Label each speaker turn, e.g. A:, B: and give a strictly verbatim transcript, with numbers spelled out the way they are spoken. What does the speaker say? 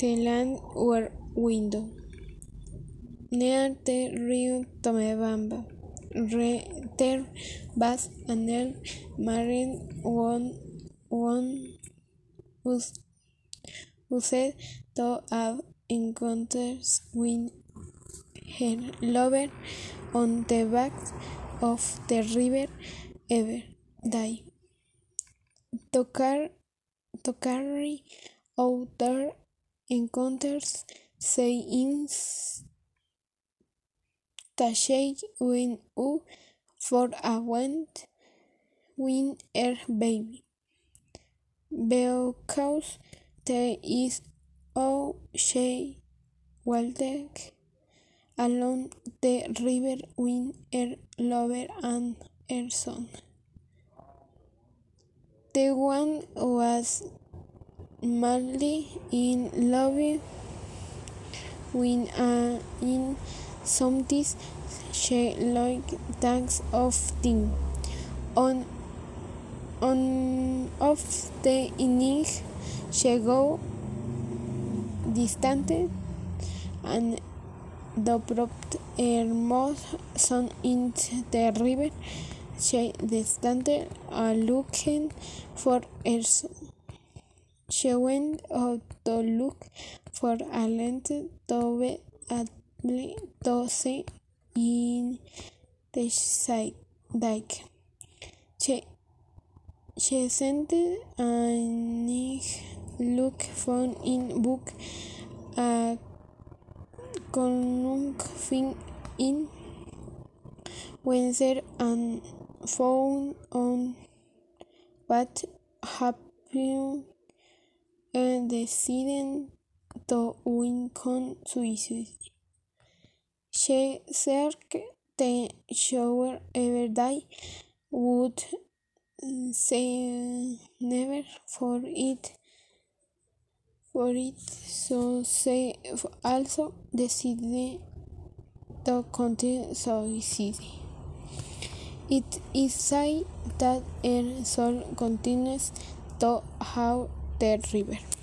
A: The land were window near the rio Tomebamba. Re, there was an elf married one one whose who said to have encounters with her lover on the banks of the river every day. To, car- to carry out their encounters, say in Tashay when u for a went win her baby. Because there is o she walked along the river with her lover and her son. The one was madly in love with a in something she like thanks of thing. On on of the evening she go distant and dropped her most son into the river. She distant a looking for her son. She went out to look for a land to be able to see in the side dike. She, she sent and look for in book a conung thing in Windsor and found on what happened and decided to Wincon suicide. She searched the shower every day, would say never for it for it, so she also decided to commit suicide. It is said that her soul continues to haunt the river.